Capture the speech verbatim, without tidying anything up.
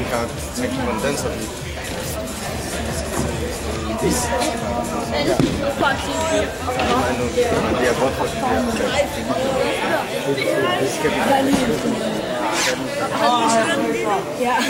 kan tænke på, hvordan den så bliver. Men det er godt for det. Det skal vi.